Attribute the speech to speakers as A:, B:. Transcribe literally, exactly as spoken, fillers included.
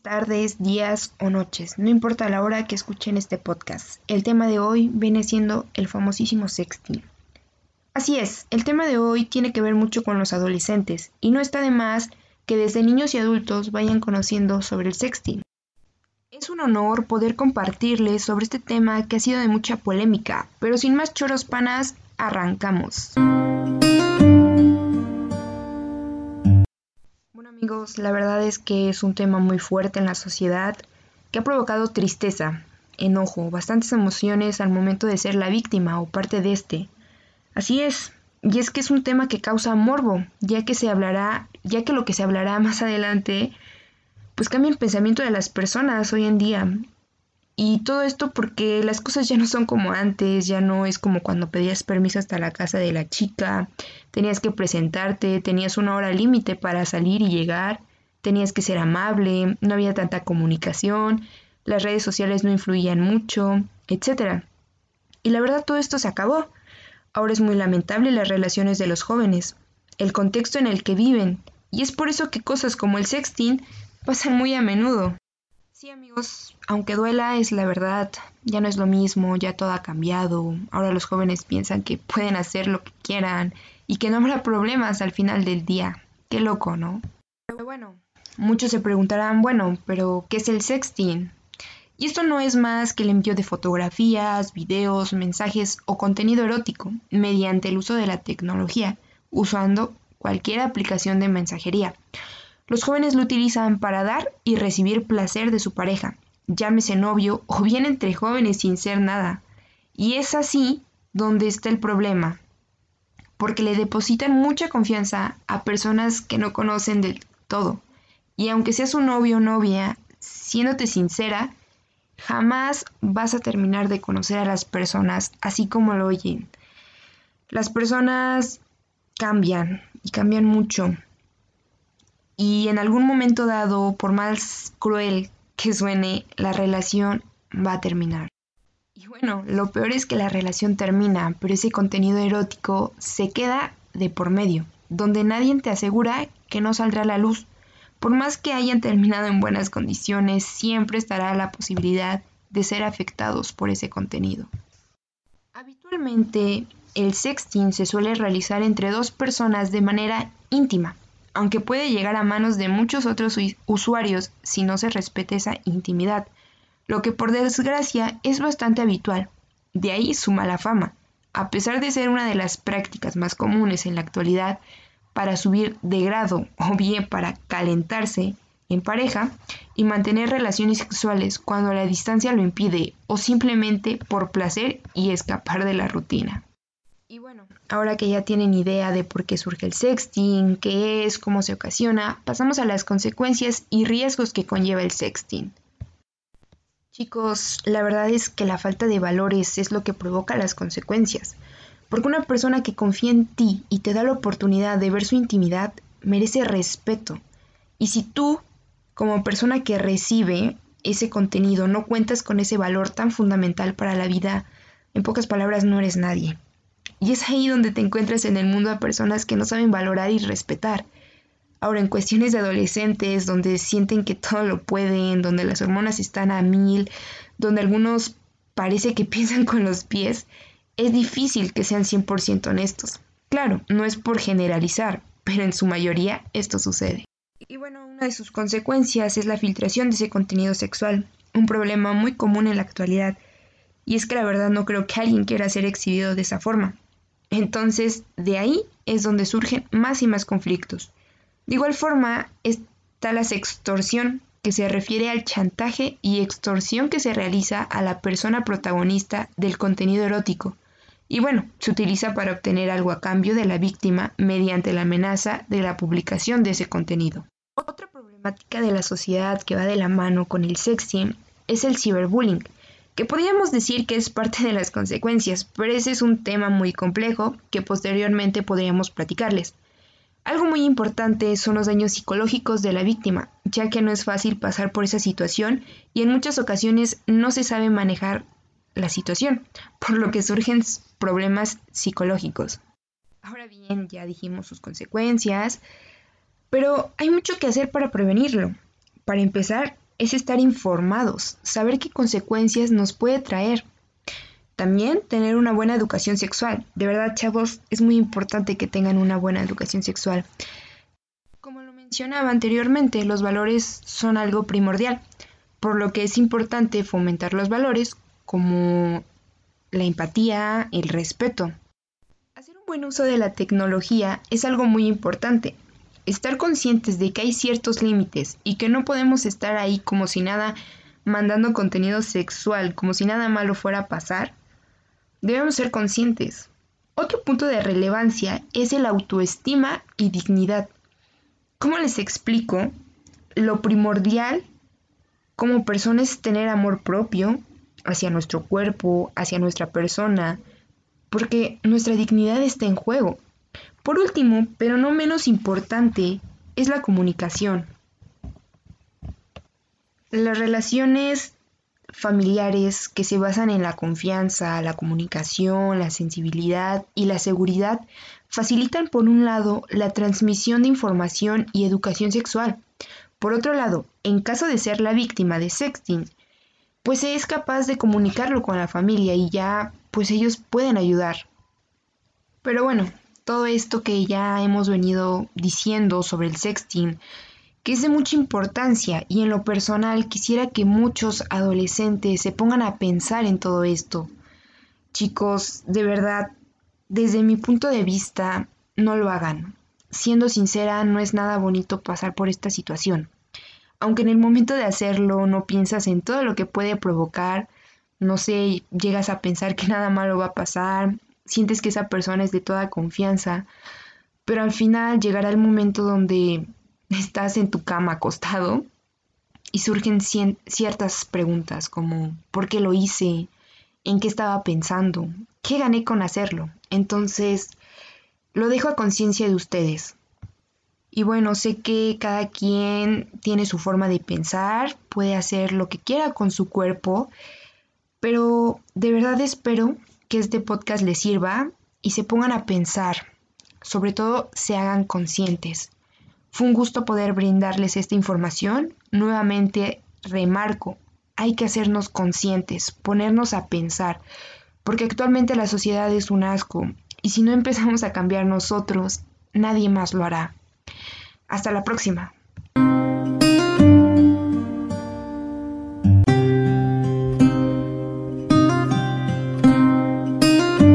A: tardes, días o noches, no importa la hora que escuchen este podcast. El tema de hoy viene siendo el famosísimo sexting. Así es, el tema de hoy tiene que ver mucho con los adolescentes y no está de más que desde niños y adultos vayan conociendo sobre el sexting. Es un honor poder compartirles sobre este tema que ha sido de mucha polémica, pero sin más choros panas, arrancamos. Bueno amigos, la verdad es que es un tema muy fuerte en la sociedad que ha provocado tristeza, enojo, bastantes emociones al momento de ser la víctima o parte de este. Así es, y es que es un tema que causa morbo, ya que se hablará, ya que lo que se hablará más adelante, pues cambia el pensamiento de las personas hoy en día. Y todo esto porque las cosas ya no son como antes, ya no es como cuando pedías permiso hasta la casa de la chica, tenías que presentarte, tenías una hora límite para salir y llegar, tenías que ser amable, no había tanta comunicación, las redes sociales no influían mucho, etcétera. Y la verdad todo esto se acabó. Ahora es muy lamentable las relaciones de los jóvenes, el contexto en el que viven, y es por eso que cosas como el sexting pasan muy a menudo. Sí amigos, aunque duela es la verdad, ya no es lo mismo, ya todo ha cambiado, ahora los jóvenes piensan que pueden hacer lo que quieran y que no habrá problemas al final del día. Qué loco, ¿no? Pero bueno, muchos se preguntarán, bueno, pero ¿qué es el sexting? Y esto no es más que el envío de fotografías, videos, mensajes o contenido erótico mediante el uso de la tecnología, usando cualquier aplicación de mensajería. Los jóvenes lo utilizan para dar y recibir placer de su pareja, llámese novio o bien entre jóvenes sin ser nada. Y es así donde está el problema, porque le depositan mucha confianza a personas que no conocen del todo. Y aunque seas un novio o novia, siéndote sincera, jamás vas a terminar de conocer a las personas así como lo oyen. Las personas cambian y cambian mucho. Y en algún momento dado, por más cruel que suene, la relación va a terminar. Y bueno, lo peor es que la relación termina, pero ese contenido erótico se queda de por medio, donde nadie te asegura que no saldrá a la luz. Por más que hayan terminado en buenas condiciones, siempre estará la posibilidad de ser afectados por ese contenido. Habitualmente, el sexting se suele realizar entre dos personas de manera íntima, aunque puede llegar a manos de muchos otros usuarios si no se respeta esa intimidad, lo que por desgracia es bastante habitual. De ahí su mala fama, a pesar de ser una de las prácticas más comunes en la actualidad para subir de grado o bien para calentarse en pareja y mantener relaciones sexuales cuando la distancia lo impide o simplemente por placer y escapar de la rutina. Y bueno, ahora que ya tienen idea de por qué surge el sexting, qué es, cómo se ocasiona, pasamos a las consecuencias y riesgos que conlleva el sexting. Chicos, la verdad es que la falta de valores es lo que provoca las consecuencias, porque una persona que confía en ti y te da la oportunidad de ver su intimidad merece respeto. Y si tú, como persona que recibe ese contenido, no cuentas con ese valor tan fundamental para la vida, en pocas palabras no eres nadie. Y es ahí donde te encuentras en el mundo a personas que no saben valorar y respetar. Ahora, en cuestiones de adolescentes, donde sienten que todo lo pueden, donde las hormonas están a mil, donde algunos parece que piensan con los pies, es difícil que sean cien por ciento honestos. Claro, no es por generalizar, pero en su mayoría esto sucede. Y bueno, una de sus consecuencias es la filtración de ese contenido sexual, un problema muy común en la actualidad. Y es que la verdad no creo que alguien quiera ser exhibido de esa forma. Entonces, de ahí es donde surgen más y más conflictos. De igual forma, está la sextorsión, que se refiere al chantaje y extorsión que se realiza a la persona protagonista del contenido erótico. Y bueno, se utiliza para obtener algo a cambio de la víctima mediante la amenaza de la publicación de ese contenido. Otra problemática de la sociedad que va de la mano con el sexting es el ciberbullying, que podríamos decir que es parte de las consecuencias, pero ese es un tema muy complejo que posteriormente podríamos platicarles. Algo muy importante son los daños psicológicos de la víctima, ya que no es fácil pasar por esa situación y en muchas ocasiones no se sabe manejar la situación, por lo que surgen problemas psicológicos. Ahora bien, ya dijimos sus consecuencias, pero hay mucho que hacer para prevenirlo. Para empezar, es estar informados, saber qué consecuencias nos puede traer. También tener una buena educación sexual. De verdad, chavos, es muy importante que tengan una buena educación sexual. Como lo mencionaba anteriormente, los valores son algo primordial, por lo que es importante fomentar los valores como la empatía, el respeto. Hacer un buen uso de la tecnología es algo muy importante. Estar conscientes de que hay ciertos límites y que no podemos estar ahí como si nada mandando contenido sexual, como si nada malo fuera a pasar, debemos ser conscientes. Otro punto de relevancia es el autoestima y dignidad. ¿Cómo les explico? Lo primordial como personas es tener amor propio hacia nuestro cuerpo, hacia nuestra persona, porque nuestra dignidad está en juego. Por último, pero no menos importante, es la comunicación. Las relaciones familiares que se basan en la confianza, la comunicación, la sensibilidad y la seguridad facilitan por un lado la transmisión de información y educación sexual. Por otro lado, en caso de ser la víctima de sexting, pues se es capaz de comunicarlo con la familia y ya pues ellos pueden ayudar. Pero bueno, todo esto que ya hemos venido diciendo sobre el sexting, que es de mucha importancia y en lo personal quisiera que muchos adolescentes se pongan a pensar en todo esto. Chicos, de verdad, desde mi punto de vista, no lo hagan. Siendo sincera, no es nada bonito pasar por esta situación. Aunque en el momento de hacerlo no piensas en todo lo que puede provocar, no sé, llegas a pensar que nada malo va a pasar, sientes que esa persona es de toda confianza, pero al final llegará el momento donde estás en tu cama acostado y surgen cien- ciertas preguntas como ¿por qué lo hice? ¿En qué estaba pensando? ¿Qué gané con hacerlo? Entonces, lo dejo a conciencia de ustedes. Y bueno, sé que cada quien tiene su forma de pensar, puede hacer lo que quiera con su cuerpo, pero de verdad espero que este podcast les sirva y se pongan a pensar, sobre todo se hagan conscientes. Fue un gusto poder brindarles esta información. Nuevamente remarco, hay que hacernos conscientes, ponernos a pensar, porque actualmente la sociedad es un asco y si no empezamos a cambiar nosotros, nadie más lo hará. Hasta la próxima.